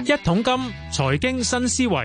一桶金財經新思維，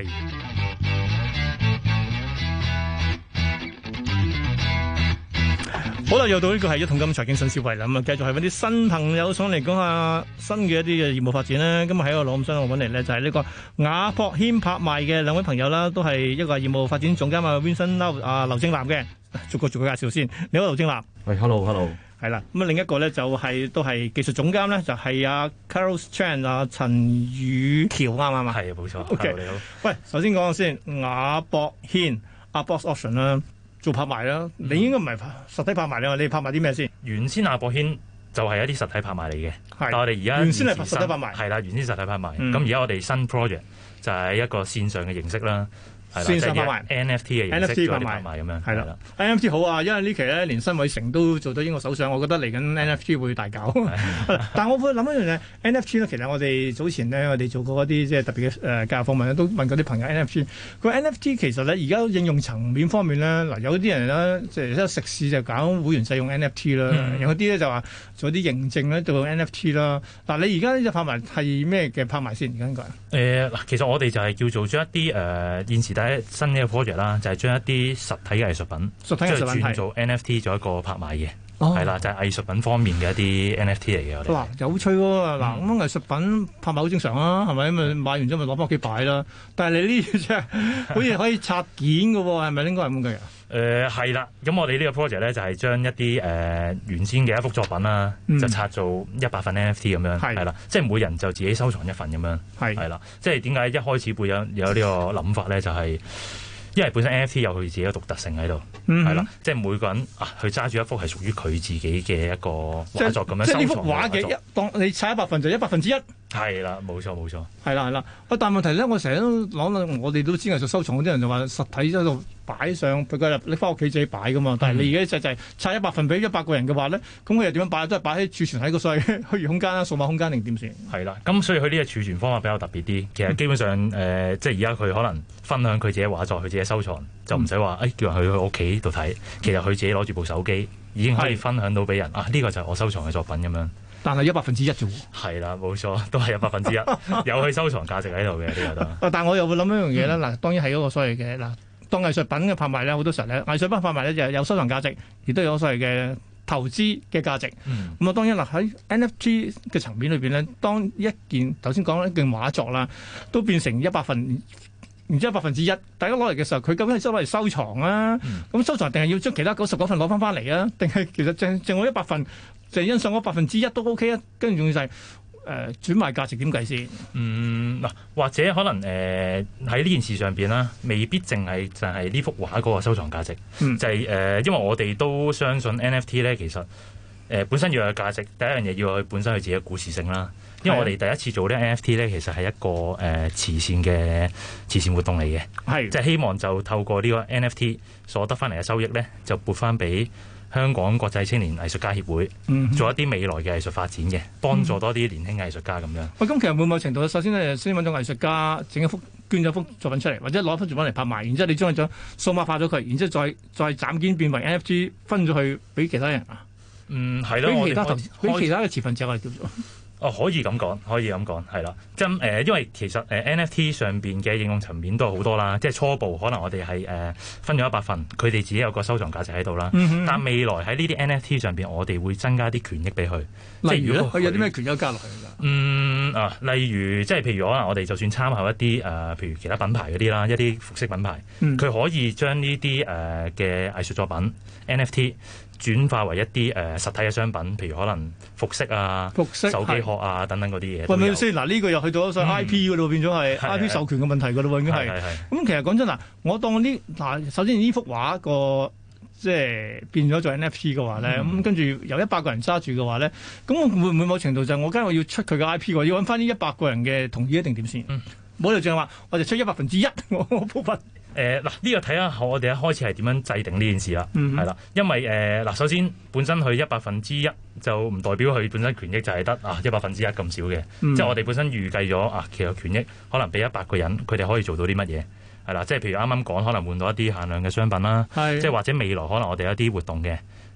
好啦，又到呢個係一桶金財經新思維啦。咁啊，繼續係揾啲新朋友上嚟講下新嘅一啲嘅業務發展啦。今日喺個攞咁新，我揾嚟咧就係呢個雅博軒拍賣嘅兩位朋友啦，都係一個業務發展總監啊 Vincent Lau 劉正南嘅，逐個介紹先。你好，劉正南。 喂 ，hello。 係啦，咁啊另一個咧就係都係技術總監咧，就係阿 Carol Chan 啊陳宇橋啱唔啱啊？ 係啊，冇錯。 OK， 你好。 喂，首先講先，雅博軒阿 Box Auction 啦，做拍賣啦，你應該唔係實體拍賣啦，你拍賣啲咩先？ 原先雅博軒就係一啲實體拍賣嚟嘅，但係我哋而家原先係實體拍賣， 係啦，原先實體拍賣。咁而家我哋新 project 就係一個線上嘅形式啦。 線上拍賣 NFT 嘅形式做啲拍賣咁樣， 係啦。NFT 好啊，因為呢期咧連辛偉誠都做到英國首相，我覺得嚟緊 NFT 會大搞。但係我會諗一樣嘢 NFT 咧，其實我哋早前咧我哋做過一啲即係特別嘅教育訪問咧，都問過啲朋友 NFT。佢話 NFT 其實咧而家應用層面方面咧，嗱有啲人咧即係食肆就搞會員制用 NFT 啦，有啲咧就話做啲認證咧做 NFT 啦。嗱你而家呢隻拍賣係咩嘅拍賣先？而家應該嗱，其實我哋就係叫做將一啲現時第一新嘅 project 啦，就係將一啲實體嘅藝術品，轉做 NFT 做一個拍賣嘅，係啦，就係藝術品方面嘅一啲 NFT 嚟嘅。 嗱，有趣喎！嗱，咁藝術品拍賣好正常啊，係咪？咁買完之後咪攞翻屋企擺啦。但係你呢隻真係好似可以拆件嘅喎，係咪應該係咁嘅呀？ 係啦，咁我哋呢個 project 咧就係將一啲原先嘅一幅作品啦，就拆做100份 NFT 咁樣，係啦，即係每人就自己收藏一份咁樣，係啦。即係點解一開始會有呢個諗法咧？就係因為本身 NFT 有佢自己嘅獨特性喺度，係啦，即係每個人佢揸住一幅係屬於佢自己嘅一個畫作咁樣收藏。 即係呢幅畫嘅當你拆100份就100分之一。 係啦，冇錯。 係啦。但係問題咧，我成日都講我哋都知藝術收藏嗰啲人就話實體喺度擺上，佢你翻屋企自己擺噶嘛。但係你而家就係拆100份俾100個人嘅話咧，咁佢又點樣擺？都係擺喺儲存喺個所謂虛擬空間啦、數碼空間定點算？ 係啦，咁所以佢呢個儲存方法比較特別啲。其實基本上即係而家佢可能分享佢自己畫作，佢自己收藏，就唔使話叫人去屋企度睇。其實佢自己攞住部手機已經可以分享到俾人呢個就係我收藏嘅作品咁樣。 但係100分之一啫喎。 係啦，冇錯，都係100分之一，有佢收藏價值喺度嘅呢個都。 但係我又會諗一樣嘢咧，嗱，當然係嗰個所謂嘅嗱，當藝術品嘅拍賣咧，好多時候咧，藝術品拍賣咧就有收藏價值，亦都有所謂嘅投資嘅價值。咁啊，當然嗱喺 NFT 嘅層面裏邊咧，當一件頭先講一件畫作啦，都變成100份。然之後100分之一，大家攞嚟嘅時候，佢究竟係攞嚟收藏啊？咁收藏定係要將其他99份攞翻嚟啊？定係其實淨我100份，就欣賞嗰100分之一都 OK 啊？跟住仲要就係轉賣價值點計先？ 嗱，或者可能喺呢件事上邊啦，未必淨係就係呢幅畫嗰個收藏價值，就係因為我哋都相信 NFT 咧，其實本身要有價值，第一樣嘢要有佢本身佢自己嘅故事性啦。因為我哋第一次做呢 NFT 咧，其實係一個慈善活動嚟嘅，即係希望就透過呢個 NFT 所得翻嚟嘅收益咧，就撥翻俾香港國際青年藝術家協會，做一啲未來嘅藝術發展嘅，幫助多啲年輕藝術家咁樣。 喂，咁其實會唔會某程度，首先咧先揾咗藝術家整一幅捐咗幅作品出嚟，或者攞一幅作品嚟拍賣，然之後你將佢數碼化咗佢，然之後再斬件變為 NFT 分咗去俾其他人啊？ 係咯， 俾其他嘅持份者我哋叫做。 可以咁講，係啦。即係因為其實NFT 上邊嘅應用層面都係好多啦。即係初步可能我哋係分咗100份，佢哋自己有個收藏價值喺度啦。但未來喺呢啲 NFT 上邊，我哋會增加啲權益俾佢。 例如佢有啲咩權益加落去㗎？ 例如即係譬如可能我哋就算參考一啲譬如其他品牌嗰啲啦，一啲服飾品牌，佢可以將呢啲嘅藝術作品 NFT。轉化為一啲實體嘅商品，譬如可能服飾啊、手機殼啊等等嗰啲嘢。 喂，咪先嗱，呢個又去到咗 IP 嗰度，變咗係 IP 授權嘅問題㗎咯，已經係。咁其實講真嗱，我當首先呢幅畫個即係變咗做 NFT 嘅話咧，咁跟住有100個人揸住嘅話咧，咁會唔會某程度就係我梗係我要出佢嘅 IP 喎，要揾翻呢100個人嘅同意一定點先？冇理由淨係話我哋出100分之一，我部分。呢個睇下我哋一開始係點樣制定呢件事啦，係啦，因為首先本身佢100分之一就唔代表佢本身權益就係得100分之一咁少嘅，即係我哋本身預計咗其實權益可能俾100個人，佢哋可以做到啲乜嘢，係啦，即係譬如啱啱講可能換到一啲限量嘅商品啦，即係或者未來可能我哋有一啲活動嘅。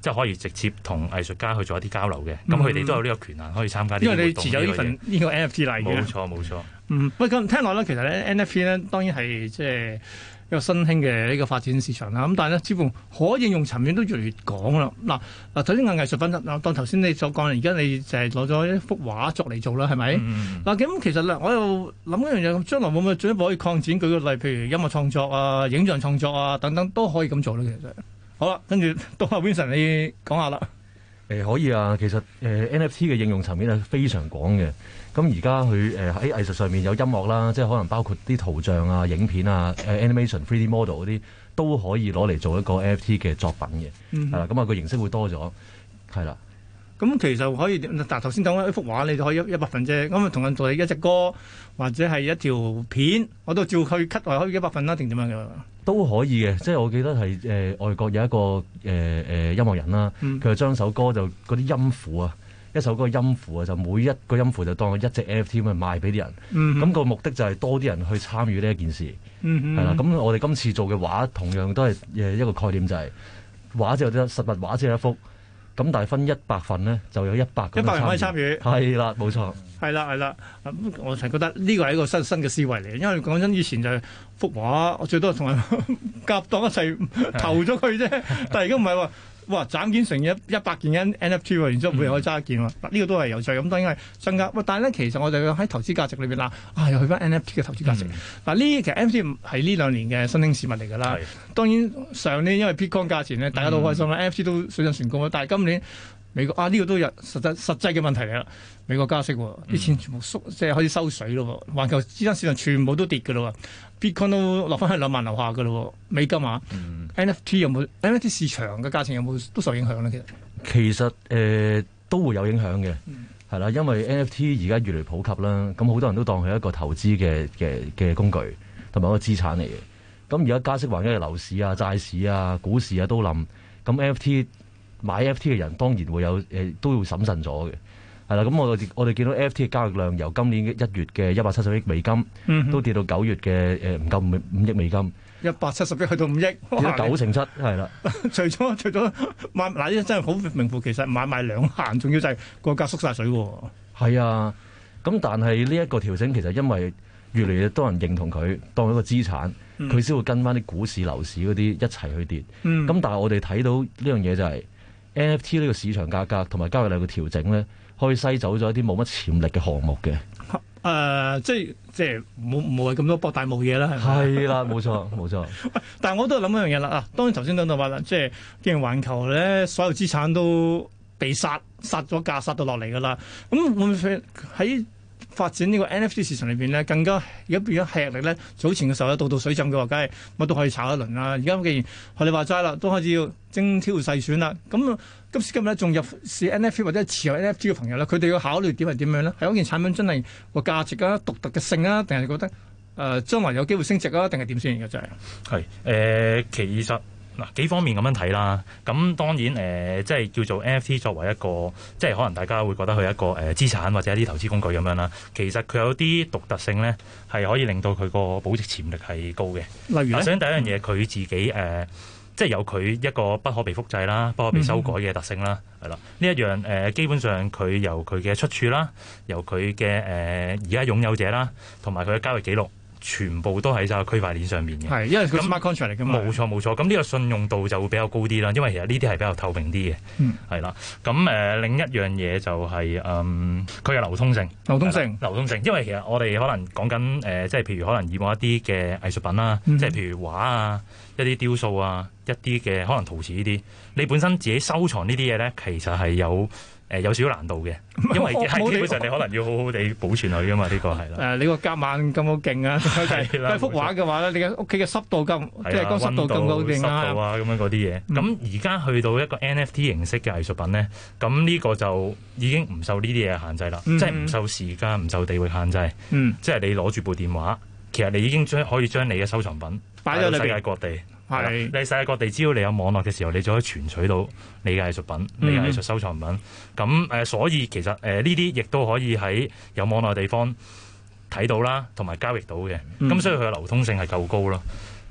即係可以直接同藝術家去做一啲交流嘅。咁佢哋都有呢個權限可以參加呢啲活動。 因為你持有呢份呢個 NFT 嚟嘅。 冇錯。 不過咁聽落咧，其實咧 NFT 咧當然係即係一個新興嘅呢個發展市場啦。咁但係咧，似乎可應用層面都越嚟越廣啦。嗱，頭先講藝術品嗱，當頭先你所講，而家你就係攞咗一幅畫作嚟做啦，係咪？嗱，咁其實咧，我又諗一樣嘢，將來會唔會進一步可以擴展？舉個例，譬如音樂創作啊、影像創作啊等等，都可以咁做咧。其實好啦，跟住到阿 Vincent 你講下啦。 可以啊，其實NFT 嘅應用層面係非常廣嘅。咁而家佢喺藝術上面有音樂啦，即係可能包括啲圖像啊、影片啊、animation、3D model 嗰啲都可以攞嚟做一個 NFT 嘅作品嘅。係啦，咁啊個形式會多咗，係啦。 咁其實可以，但頭先講一幅畫，你就可以100份啫。咁啊，同樣道理一隻歌或者係一條片，我都照去 cut 可以100份啦，定點樣嘅？都可以嘅，即係我記得係外國有一個音樂人啦，佢就將首歌就嗰啲音符啊，一首歌音符啊，就每一個音符就當一隻 NFT 咁賣俾啲人。咁個目的就係多啲人去參與呢一件事。係啦，咁我哋今次做嘅畫同樣都係一個概念，就係畫只有實物畫只有一幅。咁但係分100份咧，就有100人可以參與。係啦，冇錯。係啦。我係覺得呢個係一個新嘅思維嚟，因為講真，以前就係幅畫，我最多同人夾檔一齊投咗佢啫。但係而家唔係喎，哇！斬件成100件 NFT 喎，然之後每人可以揸一件喎。呢個都係有趣。咁當然係增加。但係咧，其實我哋喺投資價值裏邊啦，又去翻 NFT 嘅投資價值。呢其實 NFT 係呢2年嘅新興事物嚟㗎啦。當然上年因為 Bitcoin 價錢咧，大家都好開心啦，NFT 都水漲船高啦。但係今年美國呢個都有實際嘅問題嚟啦。美國加息喎，啲錢全部縮，即係開始收水咯。環球資產市場全部都跌㗎咯。Bitcoin 都落翻去2萬樓下㗎咯。美金啊，NFT 有冇 NFT 市場嘅價錢有冇都受影響咧？其實都會有影響嘅，係啦，因為 NFT 而家越嚟越普及啦，咁好多人都當佢一個投資嘅工具同埋一個資產嚟嘅。咁而家加息環境嘅樓市啊、債市啊、股市啊都冧，咁 NFT 買 NFT 嘅人當然會有都要審慎咗嘅，係啦。咁我哋見到 NFT 嘅交易量由今年1月嘅170億美金，都跌到9月嘅唔夠5億美金，170億去到5億，跌咗97%，係啦。除咗買嗱，呢真係好名副其實買賣兩閒，仲要就係個價縮晒水喎。係啊，咁但係呢一個調整其實因為越嚟越多人認同佢當一個資產，佢先會跟翻啲股市、樓市嗰啲一齊去跌。咁但係我哋睇到呢樣嘢就係 NFT 呢個市場價格同埋交易量嘅調整咧，可以篩走咗一啲冇乜潛力嘅項目嘅。即係冇係咁多博大霧嘢啦，係咪？係啦，冇錯。但係我都諗一樣嘢啦。當然頭先講到話啦，即係既然環球咧所有資產都被殺咗價，殺到落嚟㗎啦。咁會唔會喺發展呢個 NFT 市場裏邊咧，更加而家變咗吃力咧？早前嘅時候咧，到水浸嘅話，梗係乜都可以炒一輪啦。而家既然學你話齋啦，都開始要精挑細選啦。咁今時今日咧，仲入市 NFT 或者持有 NFT 嘅朋友咧，佢哋要考慮點係點樣咧？係嗰件產品真係個價值啊、獨特嘅性啊，定係覺得將來有機會升值啊，定係點先？而家真係其實。嗱，幾方面咁樣睇啦，咁當然即係叫做 NFT 作為一個，即係可能大家會覺得佢一個資產或者一啲投資工具咁樣啦。其實佢有啲獨特性咧，係可以令到佢個保值潛力係高嘅。例如首先第一樣嘢，佢自己即係有佢一個不可被複製啦、不可被修改嘅特性啦，係啦。呢一樣基本上佢由佢嘅出處啦，由佢嘅而家擁有者啦，同埋佢嘅交易記錄。全部都喺晒區塊鏈上面嘅，係因為佢 smart contract 嚟㗎嘛。冇錯，咁呢個信用度就會比較高啲啦，因為其實呢啲係比較透明啲嘅，係啦。咁另一樣嘢就係佢嘅流通性，因為其實我哋可能講緊即係譬如可能以往一啲嘅藝術品啦，即係譬如畫啊、一啲雕塑啊、一啲嘅可能陶瓷呢啲，你本身自己收藏呢啲嘢咧，其實係有少少難度嘅，因為基本上你可能要好好地保存佢噶嘛，呢個係啦。你個夾萬咁好勁啊！係幅畫嘅話咧，你嘅屋企嘅濕度咁，即係個濕度咁好勁啊！濕度啊，咁樣嗰啲嘢。咁而家去到一個 NFT 形式嘅藝術品咧，咁呢個就已經唔受呢啲嘢限制啦，即係唔受時間、唔受地域限制。即係你攞住部電話，其實你已經可以將你嘅收藏品擺到世界各地。係，你世界各地只要你有網絡嘅時候，你就可以存取到你嘅藝術品、你嘅藝術收藏品。咁所以其實呢啲亦都可以喺有網絡嘅地方睇到啦，同埋交易到嘅。咁所以佢嘅流通性係夠高咯。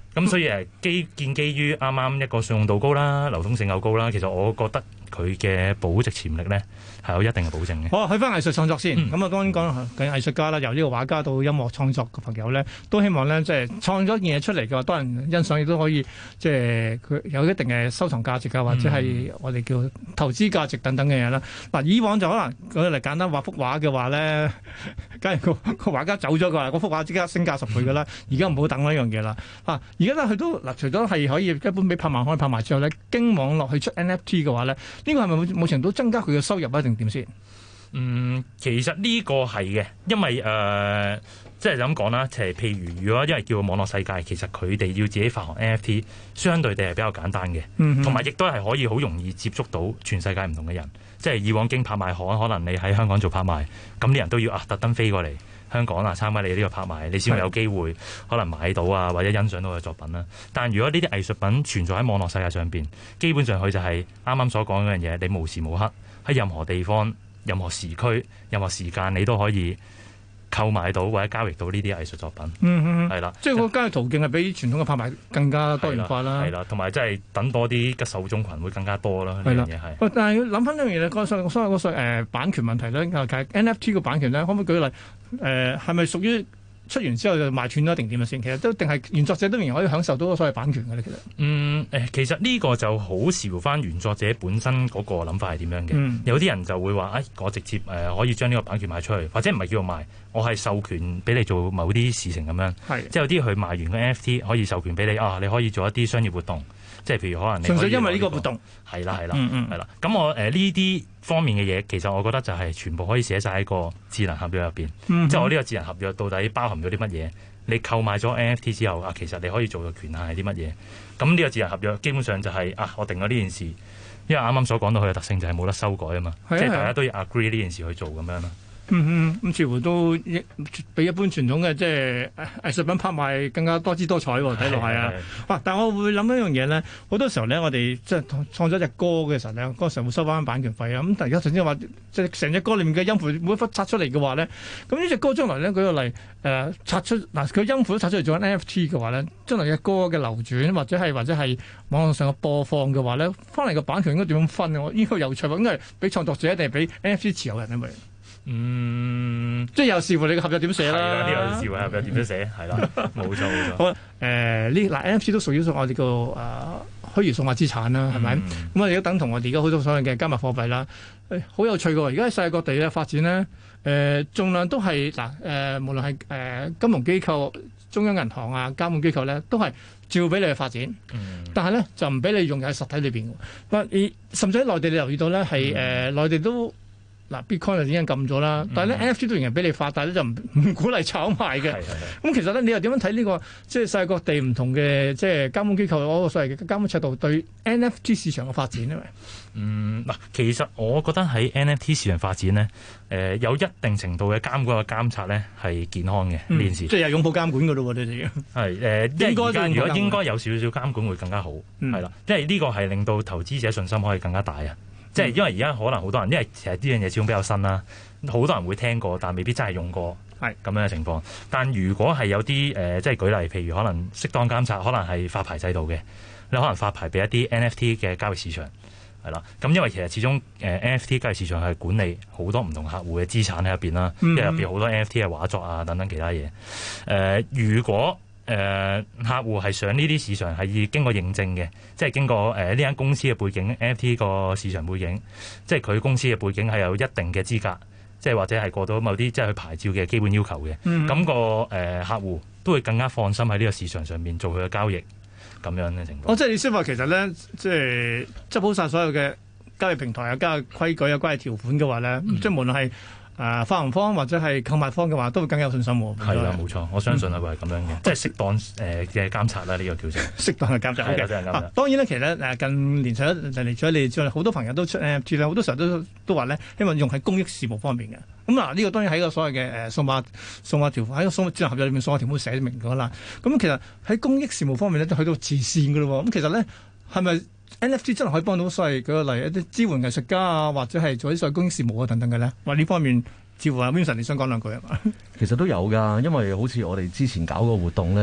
咁所以建基於啱啱一個信用度高啦，流通性又高啦，其實我覺得佢嘅保值潛力咧係有一定嘅保證嘅。 好，去翻藝術創作先。咁當然講緊藝術家啦，由呢個畫家到音樂創作嘅朋友咧，都希望咧即係創咗件嘢出嚟嘅話，多人欣賞亦都可以即係佢有一定嘅收藏價值啊，或者係我哋叫投資價值等等嘅嘢啦。嗱，以往就可能舉例簡單畫幅畫嘅話咧，假如個畫家走咗嘅話，嗰幅畫即刻升價10倍㗎啦。而家唔好等呢樣嘢啦。而家咧佢都除咗係可以一般俾拍賣行拍賣之後咧，經網絡去出 NFT 嘅話咧，呢個係咪冇程度增加佢嘅收入啊？定點先？ 其實呢個係嘅，因為即係咁講啦，譬如如果因為叫網絡世界，其實佢哋要自己發行 NFT，相對地係比較簡單嘅，同埋亦都係可以好容易接觸到全世界唔同嘅人。即係以往經拍賣行，可能你喺香港做拍賣，咁啲人都要特登飛過嚟香港參加你呢個拍賣，你先會有機會可能買到啊，或者欣賞到嘅作品啦。但如果呢啲藝術品存在喺網絡世界上邊，基本上佢就係啱啱所講嗰樣嘢，你無時無刻喺任何地方、任何時區、任何時間，你都可以購買到或者交易到呢啲藝術作品。係啦， 即係個交易途徑係比傳統嘅拍賣更加多元化啦。 係啦，同埋即係等多啲嘅受眾群會更加多啦。呢樣嘢係。 但係諗翻呢樣嘢咧，所謂嗰版權問題咧，其實 NFT 嘅版權咧，可唔可以舉例？係咪屬於出完之後就賣斷咗定點啊先？其實都定係原作者都仍然可以享受到所謂版權嘅咧。其實其實呢個就好視乎翻原作者本身嗰個諗法係點樣嘅。有啲人就會話，我直接可以將呢個版權賣出去，或者唔係叫做賣，我係授權俾你做某啲事情咁樣。即係有啲佢賣完個 NFT 可以授權俾你你可以做一啲商業活動。即係譬如可能你純粹因為呢個活動係啦。咁我呢啲方面嘅嘢，其實我覺得就係全部可以寫晒喺個智能合約入邊。即係我呢個智能合約到底包含咗啲乜嘢？你購買咗 NFT 之後其實你可以做嘅權限係啲乜嘢？咁呢個智能合約基本上就係我定咗呢件事，因為啱啱所講到佢嘅特性就係冇得修改啊嘛。即係大家都要 agree 呢件事去做咁樣啦。 咁似乎都比一般傳統嘅即係藝術品拍賣更加多姿多彩喎，睇落係啊！但我會諗一樣嘢咧，好多時候咧，我哋即係創作一隻歌嘅時候咧，嗰時候會收翻版權費啊。咁但係而家頭先話，即係成隻歌裡面嘅音符每一忽拆出嚟嘅話咧，咁呢隻歌將來咧舉個例拆出佢音符都拆出嚟做緊 NFT 嘅話咧，將來嘅歌嘅流轉或者係網絡上嘅播放嘅話咧，翻嚟嘅版權應該點樣分啊？呢個有趣喎，應該係俾創作者定係俾 NFT 持有人啊？咪？即係又視乎你嘅合約點寫啦。係啦， 呢個視乎合約點樣寫，係啦，冇錯。 好NFT 都屬於我哋個虛擬數碼資產啦，係咪？咁我哋都等同我哋而家好多所謂嘅加密貨幣啦。好有趣嘅喎，而家喺世界各地嘅發展咧，盡量都係無論係金融機構、中央銀行啊、監管機構咧，都係照俾你去發展。但係咧就唔俾你用喺實體裏邊。甚至喺內地你留意到咧，係內地都。Bitcoin 就已經禁咗啦，但係咧 NFT 都仍然俾你發，但係咧就唔鼓勵炒賣嘅。咁其實咧，你又點樣睇呢個即係世界各地唔同嘅即係監管機構嗰個所謂嘅監管尺度對 NFT 市場嘅發展咧？ 其實我覺得喺 NFT 市場發展咧，有一定程度嘅監管嘅監察咧係健康嘅呢件事。即係有擁抱監管㗎咯喎，你哋係如果應該有少少監管會更加好，係啦，因為呢個係令到投資者信心可以更加大啊。即係因為而家可能好多人，因為其實呢樣嘢始終比較新啦，好多人會聽過，但未必真係用過咁樣嘅情況。但如果係有啲即係舉例，譬如可能適當監察，可能係發牌制度嘅，你可能發牌俾一啲 NFT 嘅交易市場係啦。咁因為其實始終NFT 交易市場係管理好多唔同客戶嘅資產喺入邊啦，因為入邊好多 NFT 嘅畫作啊等等其他嘢。如果客戶係上呢啲市場係經過認證嘅，即係經過呢間公司嘅背景 NFT 個市場背景，即係佢公司嘅背景係有一定嘅資格，即係或者係過到某啲即係佢牌照嘅基本要求嘅，咁個客戶都會更加放心喺呢個市場上面做佢嘅交易咁樣嘅情況。 即係你先話其實咧，即係執好晒所有嘅交易平台啊、交易規矩啊、關係條款嘅話咧，即係無論係發行方或者係購買方嘅話，都會更加有信心喎。 係啦，冇錯，我相信係會係咁樣嘅，即係適當嘅監察啦。呢個叫做適當嘅監察。當然咧，其實近年除咗你之外，好多朋友都出 NFT 啦，好多時候都話咧，希望用喺公益事務方面嘅。咁呢個當然喺個所謂嘅數碼條款喺個智能合約裏面數碼條款寫明咗啦。咁其實喺公益事務方面咧，都去到慈善㗎咯喎。咁其實咧係咪NFT 真係可以幫到所謂舉個例一啲支援藝術家啊，或者係做啲所謂公益事務啊等等嘅咧？話呢方面，似乎阿 Vincent 你想講兩句係嘛？ 其實都有㗎，因為好似我哋之前搞個活動咧，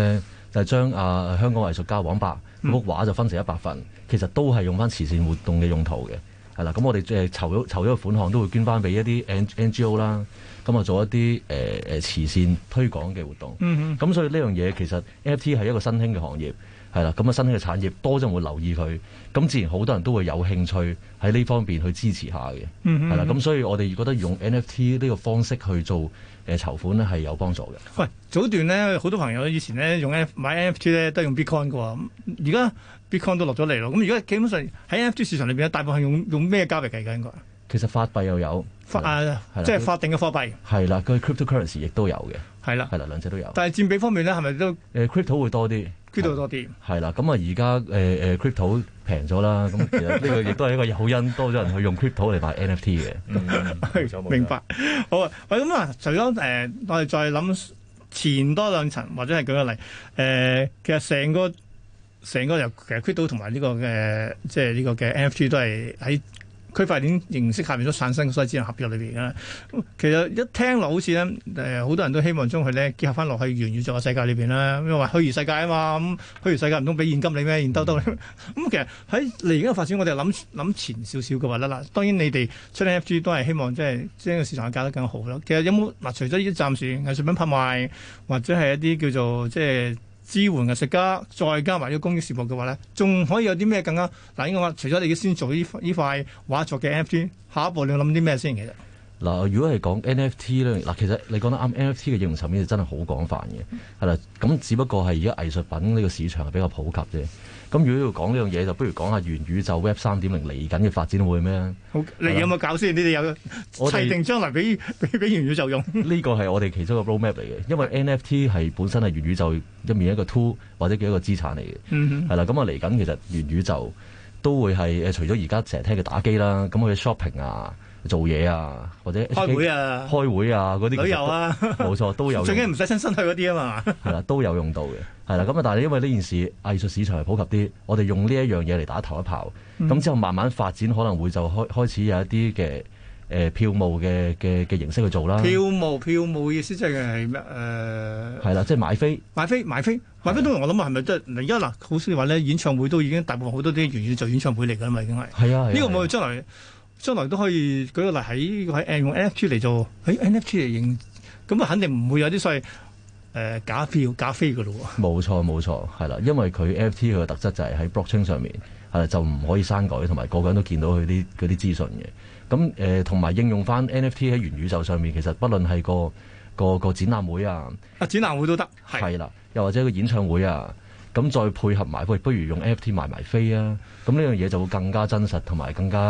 就係將香港藝術家黃伯幅畫就分成100份，其實都係用翻慈善活動嘅用途嘅，係啦。咁我哋籌咗個款項都會捐翻俾一啲 NGO 啦，咁啊做一啲慈善推廣嘅活動。咁所以呢樣嘢其實 NFT 係一個新興嘅行業。係啦，咁啊新興嘅產業多咗人會留意佢，咁自然好多人都會有興趣喺呢方面去支持下嘅，係啦，咁所以我哋覺得用 NFT 呢個方式去做籌款咧係有幫助嘅。 喂，早段咧好多朋友以前咧買 NFT 咧都係用 Bitcoin 嘅喎，而家 Bitcoin 都落咗嚟咯，咁而家基本上喺 NFT 市場裏邊咧，大部分係用咩交易計㗎應該？其實法幣又有， 即係法定嘅貨幣。 係啦，佢 cryptocurrency 亦都有嘅。係啦，兩者都有。 但係佔比方面咧，係咪都 crypto 會多啲？crypto 多啲。係啦，咁啊而家crypto 平咗啦，咁其實呢個亦都係一個好因，多咗人去用 crypto 嚟買 NFT 嘅。 明白。好啊，喂，咁啊，除咗我哋再諗前多兩層，或者係舉個例，其實成個由其實 crypto 同埋呢個嘅即係呢個嘅 NFT 都係喺區塊鏈形式下面都產生所謂智能合約裏邊嘅。其實一聽落好似咧，好多人都希望將佢咧結合翻落去元宇宙嘅世界裏邊啦。因為話虛擬世界啊嘛，咁虛擬世界唔通俾現金你咩？現兜兜咁其實喺嚟緊嘅發展，我哋諗前少少嘅話啦。當然你哋出 NFT 都係希望即係將個市場搞得更好咯。其實有冇除咗呢啲暫時藝術品拍賣，或者係一啲叫做即係支援藝術家，再加埋呢個公益事務嘅話咧，仲可以有啲咩更加應該話，除咗你先做呢塊畫作嘅 NFT， 下一步你諗啲咩先？其實嗱，如果係講 NFT 咧，嗱，其實你講得啱 NFT 嘅應用層面就真係好廣泛嘅，係啦。咁只不過係而家藝術品呢個市場係比較普及啫。咁如果要講呢樣嘢，就不如講下元宇宙 Web 3.0嚟緊嘅發展會咩？好， 你有冇搞先？你哋有砌定將來俾元宇宙用？ 呢個係我哋其中一個 roadmap 嚟嘅，因為 NFT 係本身係元宇宙入面一個 tool 或者叫一個資產嚟嘅。係啦，咁啊嚟緊其實元宇宙都會係除咗而家成日聽嘅打機啦，咁去 shopping 啊、做嘢啊，或者開會啊嗰啲旅遊啊，冇錯都有用。 最緊唔使親身去嗰啲啊嘛。 係啦，都有用到嘅。係啦，咁啊，但係因為呢件事藝術市場係普及啲，我哋用呢一樣嘢嚟打頭一炮，咁之後慢慢發展可能會就開始有一啲嘅票務嘅形式去做啦。票務意思即係咩？係啦，即係買飛都我諗係咪即係而家嗱？好似話咧，演唱會都已經大部分好多啲元宇宙演唱會嚟㗎啦嘛，已經係。係啊，呢個冇將來都可以舉個例喺用 NFT 嚟做，NFT 嚟認，咁啊肯定唔會有啲所謂假飛㗎咯喎。冇錯，係啦，因為佢 NFT 佢嘅特質就係喺 blockchain 上面，係就唔可以刪改，同埋個個人都見到佢嗰啲資訊嘅。咁同埋應用翻 NFT 喺元宇宙上面，其實不論係個展覽會啊， 展覽會都得， 係啦，又或者個演唱會啊。咁再配合埋，不如用 NFT 賣埋飛啊！咁呢樣嘢就會更加真實，同埋更加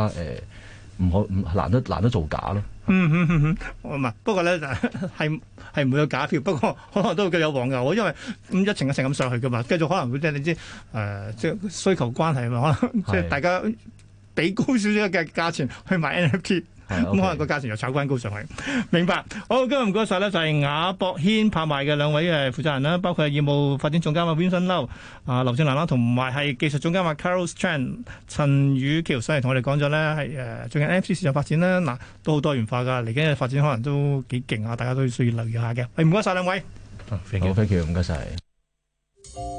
難得造假咯。 唔係，不過咧係唔會有假票，不過可能都會有黃牛，因為一層一層咁上去噶嘛，繼續可能會即係你知即係需求關係嘛，可能即係大家俾高少少嘅價錢去買 NFT。咁可能個價錢又炒翻高上去，明白。好，今日唔該晒咧，就係亞博軒拍賣嘅兩位負責人啦，包括係業務發展總監Vincent Lau、劉正南啦，同埋係技術總監Carlos Chan、陳宇橋上嚟同我哋講咗咧，係最近 NFT 市場發展啦，嗱都好多元化噶，嚟緊嘅發展可能都幾勁啊，大家都需要留意下嘅。唔該晒兩位。 好，thank you，唔該晒。